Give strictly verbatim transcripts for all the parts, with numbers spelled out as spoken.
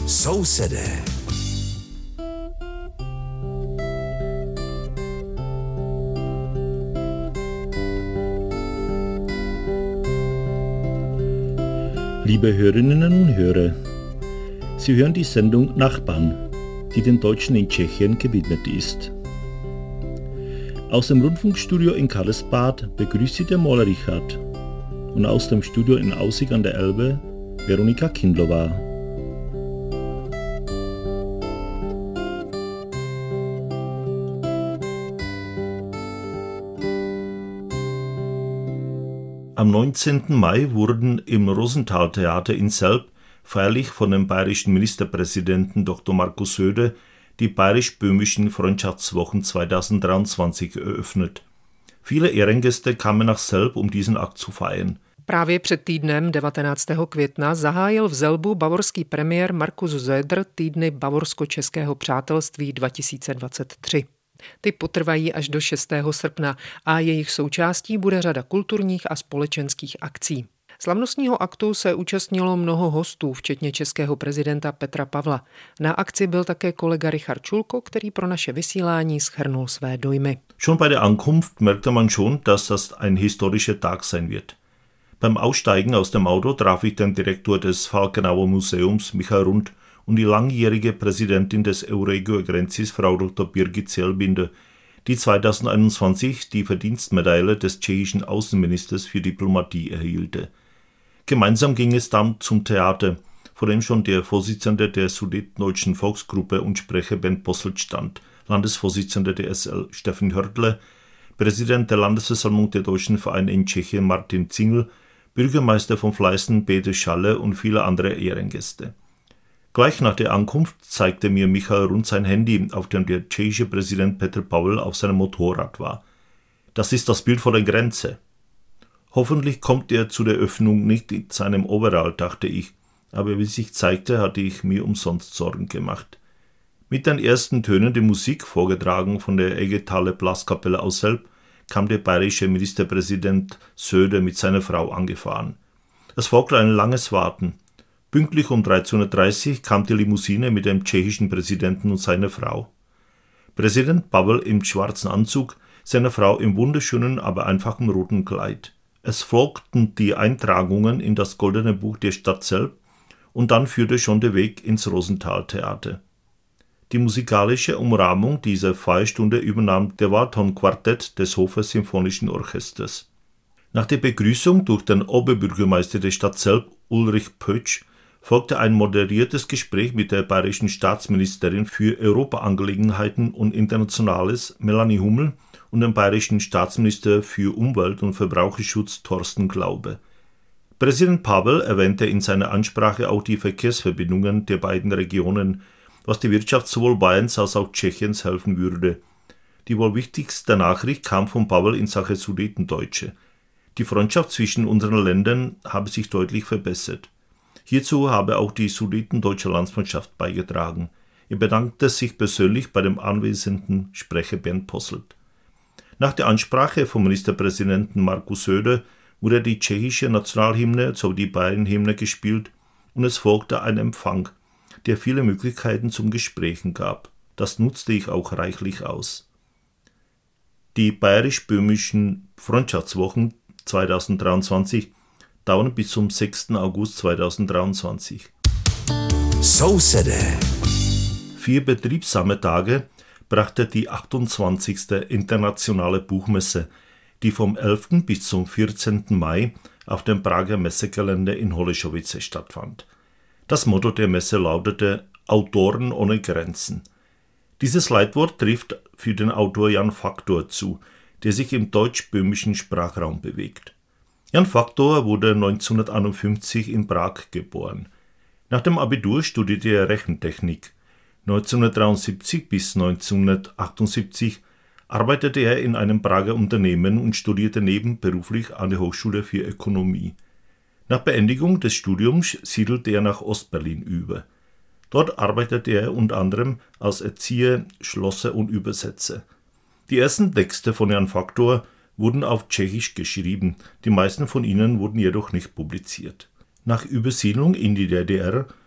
Sousedé. Liebe Hörerinnen und Hörer, Sie hören die Sendung Nachbarn, die den Deutschen in Tschechien gewidmet ist. Aus dem Rundfunkstudio in Karlsbad begrüßt Sie der Maler Richard und aus dem Studio in Aussig an der Elbe Veronika Kindlova. Am neunzehnten Mai wurden im Rosenthal-Theater in Selb feierlich von dem bayerischen Ministerpräsidenten Doktor Markus Söder die bayerisch-böhmischen Freundschaftswochen zweitausenddreiundzwanzig eröffnet. Viele Ehrengäste kamen nach Selb, um diesen Akt zu feiern. Právě před týdnem devatenáctého května zahájil v Zelbu bavorský premiér Markus Söder týdny bavorsko-českého přátelství dva tisíce dvacet tři. Ty potrvají až do šestého srpna a jejich součástí bude řada kulturních a společenských akcí. Slavnostního aktu se účastnilo mnoho hostů, včetně českého prezidenta Petra Pavla. Na akci byl také kolega Richard Schulko, který pro naše vysílání shrnul své dojmy. Schon bei der Ankunft merkte man schon, dass das ein historischer Tag sein wird. Beim Aussteigen aus dem Auto traf ich den Direktor des Falkenauer Museums, Michael Rund, und die langjährige Präsidentin des Euregio Grensis, Frau Doktor Birgit Zellbinder, die zweitausendeinundzwanzig die Verdienstmedaille des tschechischen Außenministers für Diplomatie erhielte. Gemeinsam ging es dann zum Theater, vor dem schon der Vorsitzende der Sudetendeutschen Volksgruppe und Sprecher Bernd Posselt stand, Landesvorsitzender der S L Steffen Hörtle, Präsident der Landesversammlung der Deutschen Vereine in Tschechien Martin Zingel, Bürgermeister von Fleißen Peter Schalle und viele andere Ehrengäste. Gleich nach der Ankunft zeigte mir Michael Rund sein Handy, auf dem der tschechische Präsident Petr Pavel auf seinem Motorrad war. Das ist das Bild vor der Grenze. Hoffentlich kommt er zu der Öffnung nicht in seinem Overall, dachte ich, aber wie sich zeigte, hatte ich mir umsonst Sorgen gemacht. Mit den ersten Tönen der Musik, vorgetragen von der Eggetaler Blaskapelle aus Selb, kam der bayerische Ministerpräsident Söder mit seiner Frau angefahren. Es folgte ein langes Warten. Pünktlich um dreizehn Uhr dreißig kam die Limousine mit dem tschechischen Präsidenten und seiner Frau. Präsident Pavel im schwarzen Anzug, seine Frau im wunderschönen, aber einfachen roten Kleid. Es folgten die Eintragungen in das Goldene Buch der Stadt Selb und dann führte schon der Weg ins Rosenthal-Theater. Die musikalische Umrahmung dieser Feierstunde übernahm der Waldhorn-Quartett des Hofer Symphonischen Orchesters. Nach der Begrüßung durch den Oberbürgermeister der Stadt Selb, Ulrich Pötsch, folgte ein moderiertes Gespräch mit der bayerischen Staatsministerin für Europaangelegenheiten und Internationales, Melanie Hummel, und dem bayerischen Staatsminister für Umwelt und Verbraucherschutz, Thorsten Glaube. Präsident Pavel erwähnte in seiner Ansprache auch die Verkehrsverbindungen der beiden Regionen, was der Wirtschaft sowohl Bayerns als auch Tschechiens helfen würde. Die wohl wichtigste Nachricht kam von Pavel in Sache Sudetendeutsche. Die Freundschaft zwischen unseren Ländern habe sich deutlich verbessert. Hierzu habe auch die Sudetendeutsche Landsmannschaft beigetragen. Er bedankte sich persönlich bei dem anwesenden Sprecher Bernd Posselt. Nach der Ansprache vom Ministerpräsidenten Markus Söder wurde die tschechische Nationalhymne sowie die Bayernhymne gespielt und es folgte ein Empfang, der viele Möglichkeiten zum Gesprächen gab. Das nutzte ich auch reichlich aus. Die bayerisch-böhmischen Freundschaftswochen zweitausenddreiundzwanzig dauern bis zum sechsten August zweitausenddreiundzwanzig. Sousedé. Vier betriebsame Tage brachte die achtundzwanzigste Internationale Buchmesse, die vom elften bis zum vierzehnten Mai auf dem Prager Messegelände in Holešovice stattfand. Das Motto der Messe lautete »Autoren ohne Grenzen«. Dieses Leitwort trifft für den Autor Jan Faktor zu, der sich im deutsch-böhmischen Sprachraum bewegt. Jan Faktor wurde neunzehnhunderteinundfünfzig in Prag geboren. Nach dem Abitur studierte er Rechentechnik. neunzehnhundertdreiundsiebzig bis neunzehnhundertachtundsiebzig arbeitete er in einem Prager Unternehmen und studierte nebenberuflich an der Hochschule für Ökonomie. Nach Beendigung des Studiums siedelte er nach Ostberlin über. Dort arbeitete er unter anderem als Erzieher, Schlosser und Übersetzer. Die ersten Texte von Jan Faktor wurden auf Tschechisch geschrieben, die meisten von ihnen wurden jedoch nicht publiziert. Nach Übersiedlung in die D D R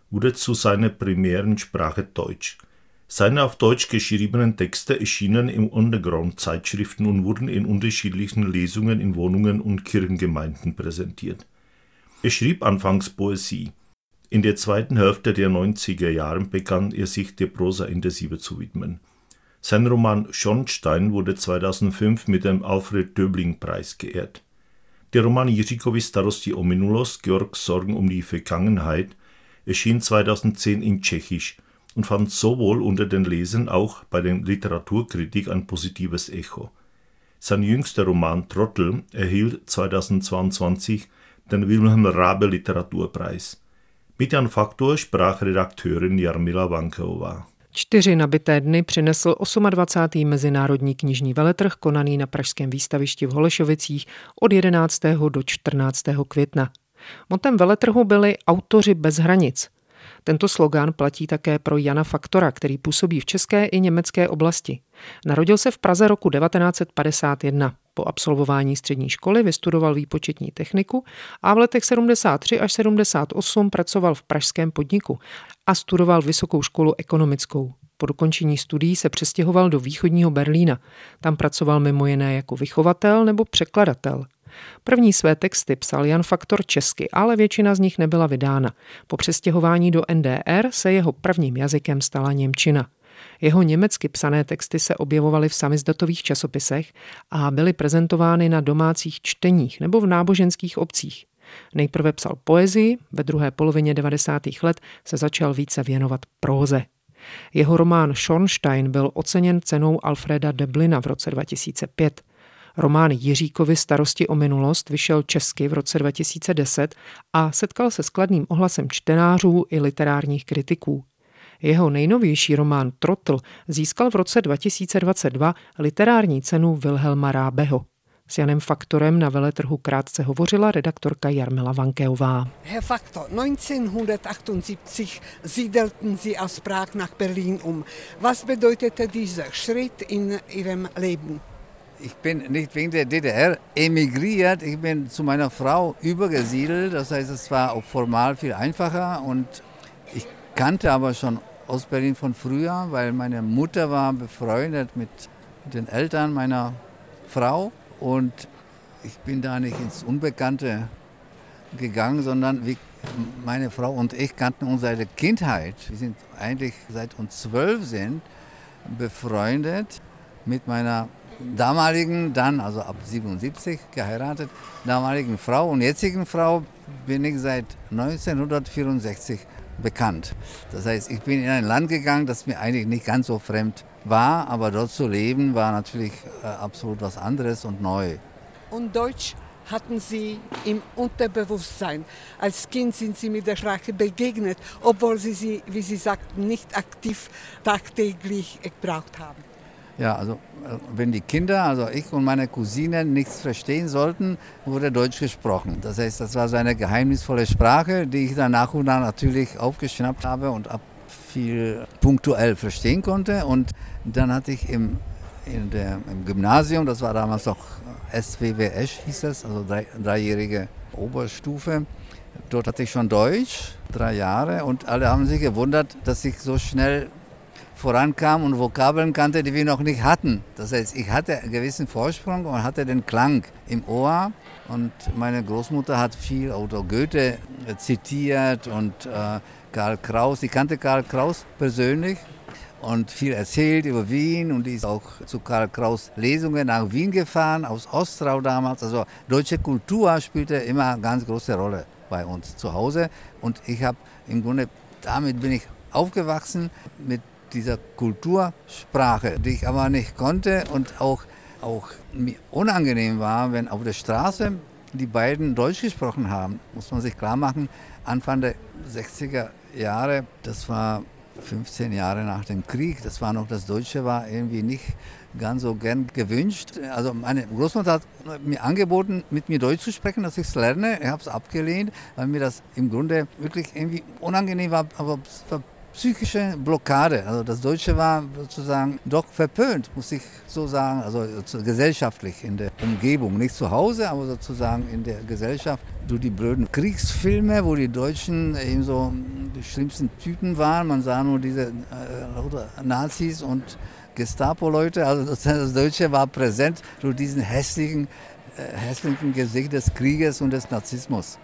wurde zu seiner primären Sprache Deutsch. Seine auf Deutsch geschriebenen Texte erschienen in Underground-Zeitschriften und wurden in unterschiedlichen Lesungen in Wohnungen und Kirchengemeinden präsentiert. Er schrieb anfangs Poesie. In der zweiten Hälfte der neunziger Jahre begann er sich der Prosa intensiver zu widmen. Sein Roman Schornstein wurde zweitausendfünf mit dem Alfred-Döbling-Preis geehrt. Der Roman Jiříkovi starosti o minulost, Georgs Sorgen um die Vergangenheit, erschien zweitausendzehn in Tschechisch und fand sowohl unter den Lesern auch bei der Literaturkritik ein positives Echo. Sein jüngster Roman Trottel erhielt zweitausendzweiundzwanzig den Wilhelm Raabe Literaturpreis. Mit Jan Faktor sprach Redakteurin Jarmila Vankeová. Čtyři nabité dny přinesl dvacátý osmý Mezinárodní knižní veletrh konaný na pražském výstavišti v Holešovicích od jedenáctého do čtrnáctého května. Motem veletrhu byli autoři bez hranic. Tento slogán platí také pro Jana Faktora, který působí v české i německé oblasti. Narodil se v Praze roku devatenáct set padesát jedna. Po absolvování střední školy vystudoval výpočetní techniku a v letech sedmdesát tři až sedmdesát osm pracoval v pražském podniku a studoval vysokou školu ekonomickou. Po dokončení studií se přestěhoval do východního Berlína. Tam pracoval mimo jiné jako vychovatel nebo překladatel. První své texty psal Jan Faktor česky, ale většina z nich nebyla vydána. Po přestěhování do N D R se jeho prvním jazykem stala němčina. Jeho německy psané texty se objevovaly v samizdatových časopisech a byly prezentovány na domácích čteních nebo v náboženských obcích. Nejprve psal poezii, ve druhé polovině devadesátých let se začal více věnovat próze. Jeho román Schornstein byl oceněn cenou Alfreda Döblina v roce dva tisíce pět. Román Jiříkovi starosti o minulost vyšel česky v roce dva tisíce deset a setkal se s kladným ohlasem čtenářů i literárních kritiků. Jeho nejnovější román Trotl získal v roce dva tisíce dvacet dva literární cenu Wilhelma Raabeho. S Janem Faktorem na veletrhu krátce hovořila redaktorka Jarmila Vankeová. Herr Faktor, neunzehnhundertachtundsiebzig siedelten Sie aus Prag nach Berlin um. Was bedeutete dieser Schritt in Ihrem Leben? Ich bin nicht wegen der D D R emigriert, ich bin zu meiner Frau übergesiedelt, das heißt, es war auch formal viel einfacher und ich kannte aber schon Ostberlin von früher, weil meine Mutter war befreundet mit den Eltern meiner Frau und ich bin da nicht ins Unbekannte gegangen, sondern wie meine Frau und ich kannten uns seit der Kindheit. Wir sind eigentlich seit uns zwölf sind befreundet mit meiner damaligen, dann also ab siebenundsiebzig geheiratet, damaligen Frau und jetzigen Frau bin ich seit neunzehnhundertvierundsechzig bekannt. Das heißt, ich bin in ein Land gegangen, das mir eigentlich nicht ganz so fremd war, aber dort zu leben war natürlich äh, absolut was anderes und neu. Und Deutsch hatten Sie im Unterbewusstsein. Als Kind sind Sie mit der Sprache begegnet, obwohl Sie sie, wie Sie sagten, nicht aktiv tagtäglich gebraucht haben. Ja, also wenn die Kinder, also ich und meine Cousinen nichts verstehen sollten, wurde Deutsch gesprochen. Das heißt, das war so eine geheimnisvolle Sprache, die ich dann nach und nach natürlich aufgeschnappt habe und ab viel punktuell verstehen konnte. Und dann hatte ich im, in der, im Gymnasium, das war damals noch S W W S hieß es, also drei, dreijährige Oberstufe, dort hatte ich schon Deutsch, drei Jahre und alle haben sich gewundert, dass ich so schnell vorankam und Vokabeln kannte, die wir noch nicht hatten. Das heißt, ich hatte einen gewissen Vorsprung und hatte den Klang im Ohr. Und meine Großmutter hat viel Otto Goethe zitiert und äh, Karl Kraus. Ich kannte Karl Kraus persönlich und viel erzählt über Wien. Und die ist auch zu Karl Kraus Lesungen nach Wien gefahren, aus Ostrau damals. Also deutsche Kultur spielte immer eine ganz große Rolle bei uns zu Hause. Und ich habe im Grunde, damit bin ich aufgewachsen, mit dieser Kultursprache, die ich aber nicht konnte und auch, auch mir unangenehm war, wenn auf der Straße die beiden Deutsch gesprochen haben, muss man sich klar machen, Anfang der sechziger Jahre, das war fünfzehn Jahre nach dem Krieg, das war noch, das Deutsche war irgendwie nicht ganz so gern gewünscht. Also meine Großmutter hat mir angeboten, mit mir Deutsch zu sprechen, dass ich es lerne. Ich habe es abgelehnt, weil mir das im Grunde wirklich irgendwie unangenehm war, aber es war psychische Blockade. Also das Deutsche war sozusagen doch verpönt, muss ich so sagen, also gesellschaftlich in der Umgebung. Nicht zu Hause, aber sozusagen in der Gesellschaft. Durch die blöden Kriegsfilme, wo die Deutschen eben so die schlimmsten Typen waren. Man sah nur diese äh, Nazis und Gestapo-Leute. Also das Deutsche war präsent durch diesen hässlichen, äh, hässlichen Gesicht des Krieges und des Narzissmus.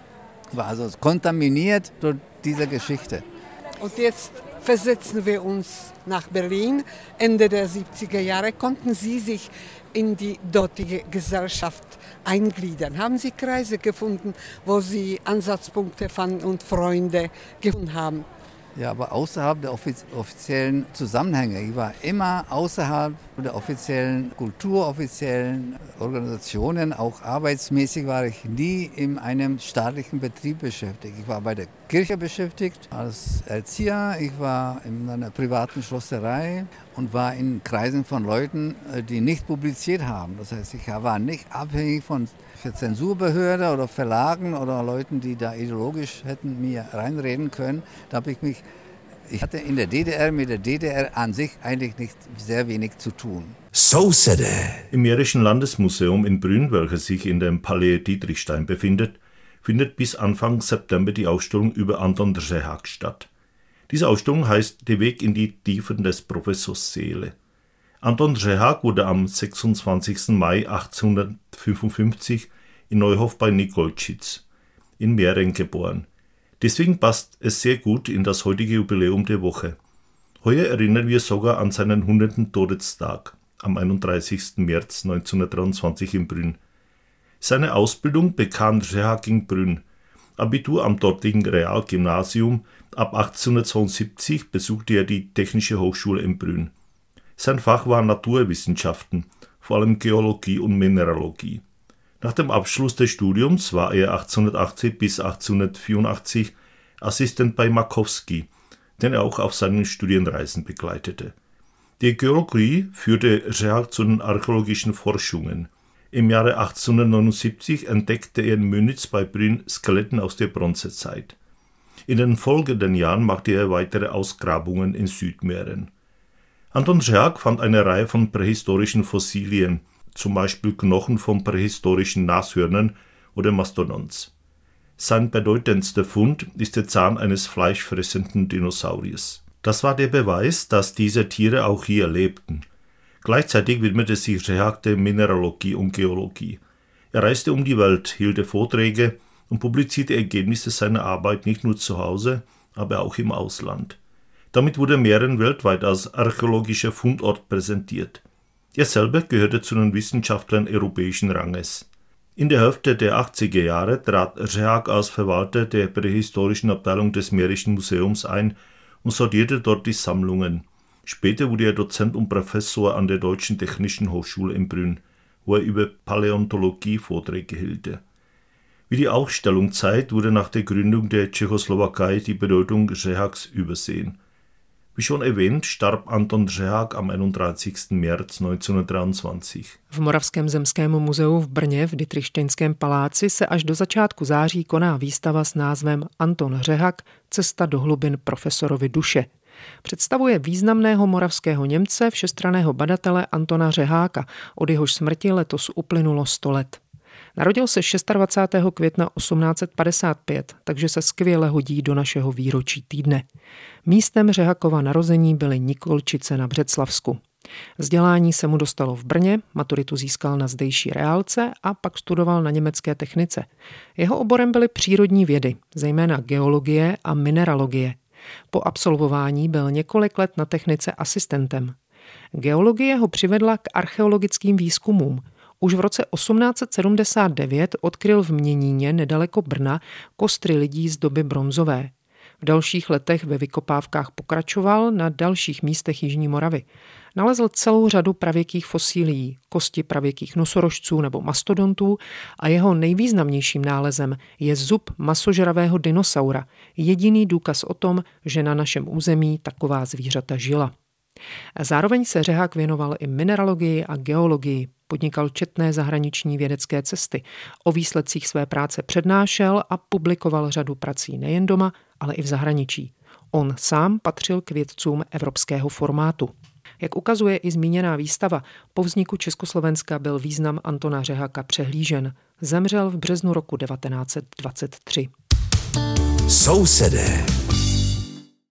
War also kontaminiert durch diese Geschichte. Und jetzt versetzen wir uns nach Berlin. Ende der siebziger Jahre konnten Sie sich in die dortige Gesellschaft eingliedern. Haben Sie Kreise gefunden, wo Sie Ansatzpunkte fanden und Freunde gefunden haben? Ja, aber außerhalb der offiziellen Zusammenhänge. Ich war immer außerhalb der offiziellen Kultur, offiziellen Organisationen. Auch arbeitsmäßig war ich nie in einem staatlichen Betrieb beschäftigt. Ich war bei der Kirche beschäftigt als Erzieher. Ich war in einer privaten Schlosserei und war in Kreisen von Leuten, die nicht publiziert haben. Das heißt, ich war nicht abhängig von der Zensurbehörde oder Verlagen oder Leuten, die da ideologisch hätten mir reinreden können. Da habe ich mich, ich hatte in der D D R mit der D D R an sich eigentlich nicht sehr wenig zu tun. So said it. Im Mährischen Landesmuseum in Brünn, welches sich in dem Palais Dietrichstein befindet, findet bis Anfang September die Ausstellung über Anton Řehák statt. Diese Ausstellung heißt Der Weg in die Tiefen des Professors Seele. Anton Řehák wurde am sechsundzwanzigsten Mai achtzehnhundertfünfundfünfzig in Neuhof bei Nikolčic in Mähren geboren. Deswegen passt es sehr gut in das heutige Jubiläum der Woche. Heuer erinnern wir sogar an seinen hundertsten Todestag am einunddreißigsten März neunzehnhundertdreiundzwanzig in Brünn. Seine Ausbildung bekam Řehák in Brünn. Abitur am dortigen Realgymnasium. Ab achtzehnhundertzweiundsiebzig besuchte er die Technische Hochschule in Brünn. Sein Fach war Naturwissenschaften, vor allem Geologie und Mineralogie. Nach dem Abschluss des Studiums war er achtzehnhundertachtzig bis achtzehnhundertvierundachtzig Assistent bei Makowski, den er auch auf seinen Studienreisen begleitete. Die Geologie führte Řehák zu den archäologischen Forschungen. Im Jahre achtzehnhundertneunundsiebzig entdeckte er in Münitz bei Brünn Skeletten aus der Bronzezeit. In den folgenden Jahren machte er weitere Ausgrabungen in Südmähren. Anton Řehák fand eine Reihe von prähistorischen Fossilien, zum Beispiel Knochen von prähistorischen Nashörnern oder Mastodons. Sein bedeutendster Fund ist der Zahn eines fleischfressenden Dinosauriers. Das war der Beweis, dass diese Tiere auch hier lebten. Gleichzeitig widmete sich Řehák der Mineralogie und Geologie. Er reiste um die Welt, hielt Vorträge und publizierte Ergebnisse seiner Arbeit nicht nur zu Hause, aber auch im Ausland. Damit wurde Mähren weltweit als archäologischer Fundort präsentiert. Er selber gehörte zu den Wissenschaftlern europäischen Ranges. In der Hälfte der achtziger Jahre trat Řehák als Verwalter der prähistorischen Abteilung des Mährischen Museums ein und sortierte dort die Sammlungen. Später wurde er Dozent und Professor an der Deutschen Technischen Hochschule in Brünn, wo er über Paläontologie Vorträge hielt. Wie die Ausstellung zeigt, wurde nach der Gründung der Tschechoslowakei die Bedeutung Řeháks übersehen. Wie schon erwähnt, starb Anton Řehák am einunddreißigsten März neunzehnhundertdreiundzwanzig. V Moravském zemském muzeu v Brně v Dietrichsteinském paláci se až do začátku září koná výstava s názvem Anton Řehák – Cesta do hlubin profesorovi duše. Představuje významného moravského Němce, všestranného badatele Antona Řeháka, od jehož smrti letos uplynulo sto let. Narodil se dvacátého šestého května osmnáct set padesát pět, takže se skvěle hodí do našeho výročí týdne. Místem Řehákova narození byly Nikolčice na Břeclavsku. Vzdělání se mu dostalo v Brně, maturitu získal na zdejší reálce a pak studoval na německé technice. Jeho oborem byly přírodní vědy, zejména geologie a mineralogie. Po absolvování byl několik let na technice asistentem. Geologie ho přivedla k archeologickým výzkumům. Už v roce osmnáct set sedmdesát devět odkryl v Měníně nedaleko Brna kostry lidí z doby bronzové. V dalších letech ve vykopávkách pokračoval na dalších místech Jižní Moravy. Nalezl celou řadu pravěkých fosílií, kosti pravěkých nosorožců nebo mastodontů a jeho nejvýznamnějším nálezem je zub masožravého dinosaura, jediný důkaz o tom, že na našem území taková zvířata žila. Zároveň se Řehák věnoval i mineralogii a geologii, podnikal četné zahraniční vědecké cesty, o výsledcích své práce přednášel a publikoval řadu prací nejen doma, ale i v zahraničí. On sám patřil k vědcům evropského formátu. Jak ukazuje i zmíněná výstava, po vzniku Československa byl význam Antona Řeháka přehlížen. Zemřel v březnu roku devatenáct set dvacet tři. Sousedé.